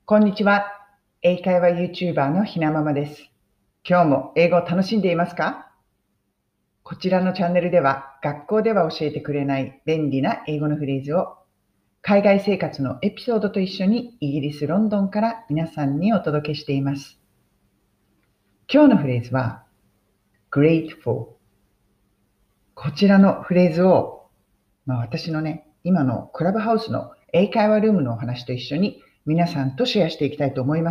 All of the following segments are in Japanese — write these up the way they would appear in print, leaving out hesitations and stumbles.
こんにちは。英会話 YouTuber のひなままです。今日も英語を楽しんでいますか？こちらのチャンネルでは学校では教えてくれない便利な英語のフレーズを海外生活のエピソードと一緒にイギリス・ロンドンから皆さんにお届けしています。今日のフレーズは grateful。こちらのフレーズを、私のね、今のクラブハウスの英会話ルームのお話と一緒に皆さんとシェアしていきたいと思います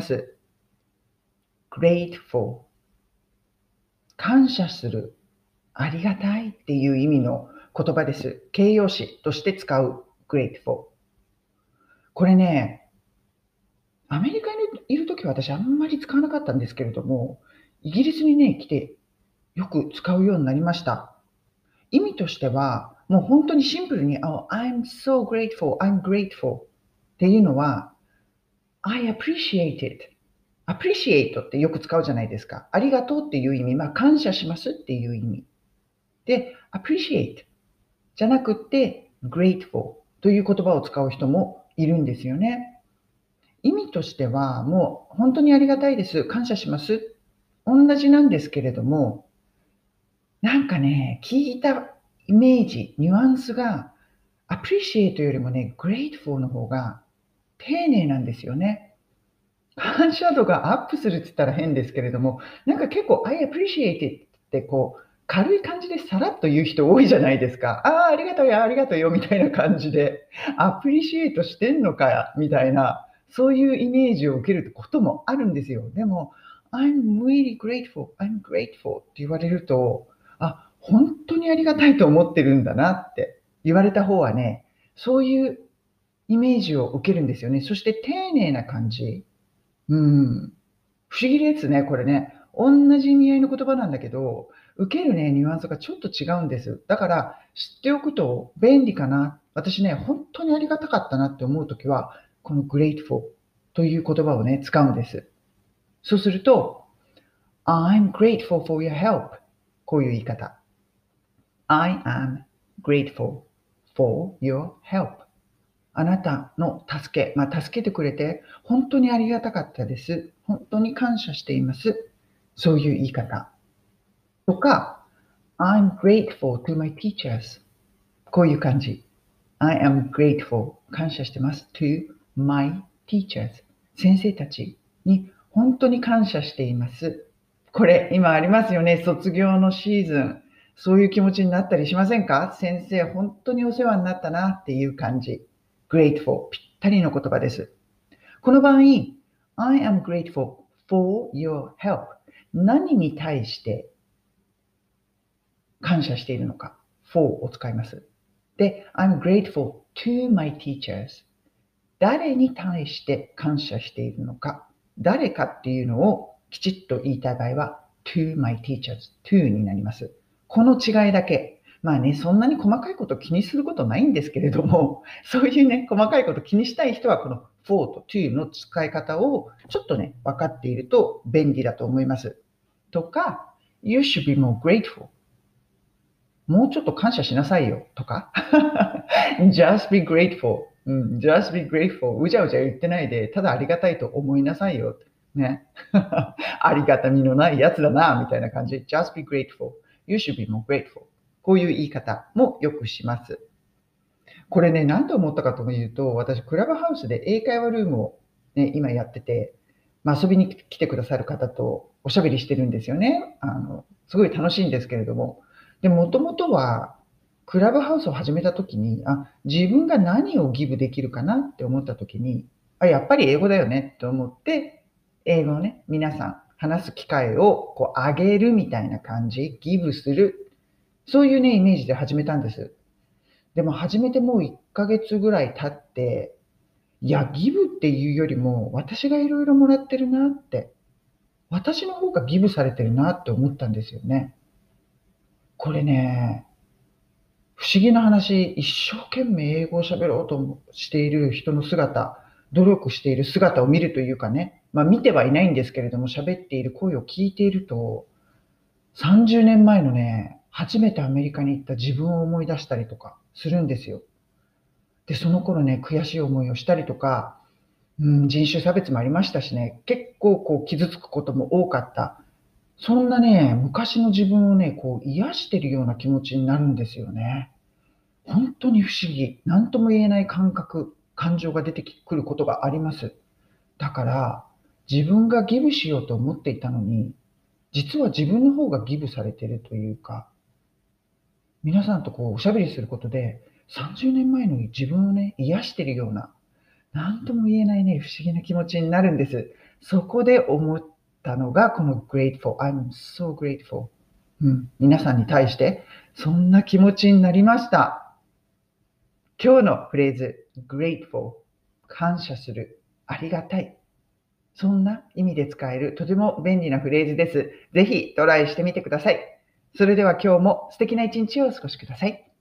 。grateful。感謝する、ありがたいっていう意味の言葉です。形容詞として使う grateful。これね、アメリカにいるときは私あんまり使わなかったんですけれども、イギリスにね、来てよく使うようになりました。意味としては、もう本当にシンプルに、I'm so grateful, I'm grateful っていうのは、I appreciate it。appreciate ってよく使うじゃないですか。ありがとうっていう意味、感謝しますっていう意味。で、appreciate じゃなくって grateful という言葉を使う人もいるんですよね。意味としてはもう本当にありがたいです。感謝します。同じなんですけれども、なんかね、聞いたイメージ、ニュアンスが appreciate よりもね、grateful の方が丁寧なんですよね。感謝度がアップするって言ったら変ですけれども、なんか結構 I appreciate it って軽い感じでさらっと言う人多いじゃないですか。ああ、ありがとうよ、ありがとうよ、みたいな感じで、アプリシエイトしてんのかや、みたいな、そういうイメージを受けることもあるんですよ。でも、I'm really grateful, I'm grateful って言われると、本当にありがたいと思ってるんだなって言われた方はね、そういうイメージを受けるんですよね。そして丁寧な感じ。うん。不思議ですね、これね。同じ意味合いの言葉なんだけど、受けるね、ニュアンスがちょっと違うんです。だから、知っておくと便利かな。私ね、本当にありがたかったなって思うときは、この grateful という言葉をね、使うんです。そうすると、I'm grateful for your help。こういう言い方。I am grateful for your help。あなたの助け、助けてくれて本当にありがたかったです。本当に感謝しています。そういう言い方。とか、I'm grateful to my teachers。こういう感じ。I am grateful。感謝してます。to my teachers。先生たちに本当に感謝しています。これ、今ありますよね。卒業のシーズン。そういう気持ちになったりしませんか？先生、本当にお世話になったなっていう感じ。grateful。ぴったりの言葉です。この場合、I am grateful for your help。何に対して感謝しているのか。for を使います。で、I'm grateful to my teachers。誰に対して感謝しているのか。誰かっていうのをきちっと言いたい場合は to my teachers。to になります。この違いだけ。そんなに細かいこと気にすることないんですけれども、そういうね、細かいこと気にしたい人はこの for と to の使い方をちょっとね、分かっていると便利だと思います。とか、You should be more grateful。もうちょっと感謝しなさいよとかjust be grateful、just be grateful うじゃうじゃ言ってないでただありがたいと思いなさいよねありがたみのないやつだなみたいな感じ just be grateful you should be more grateful こういう言い方もよくします。これね、何と思ったかというと、私クラブハウスで英会話ルームを、ね、今やってて、遊びに来てくださる方とおしゃべりしてるんですよね。すごい楽しいんですけれども、でもともとはクラブハウスを始めた時に、自分が何をギブできるかなって思った時に、やっぱり英語だよねと思って、英語をね、皆さん話す機会を上げるみたいな感じ、ギブする、そういうね、イメージで始めたんです。でも始めてもう1ヶ月ぐらい経って、いや、ギブっていうよりも、私がいろいろもらってるなって、私の方がギブされてるなって思ったんですよね。これね、不思議な話、一生懸命英語を喋ろうとしている人の姿、努力している姿を見るというかね、見てはいないんですけれども、喋っている声を聞いていると、30年前のね、初めてアメリカに行った自分を思い出したりとかするんですよ。で、その頃ね、悔しい思いをしたりとか、 人種差別もありましたしね、結構傷つくことも多かった。そんなね、昔の自分をね、癒してるような気持ちになるんですよね。本当に不思議。なんとも言えない感覚、感情が出てくることがあります。だから、自分がギブしようと思っていたのに、実は自分の方がギブされているというか、皆さんとおしゃべりすることで、30年前の自分をね、癒しているような、なんとも言えないね、不思議な気持ちになるんです。そこで思ったのが、この grateful. I'm so grateful. 皆さんに対して、そんな気持ちになりました。今日のフレーズ、grateful。感謝する。ありがたい。そんな意味で使えるとても便利なフレーズです。ぜひトライしてみてください。それでは今日も素敵な一日をお過ごしください。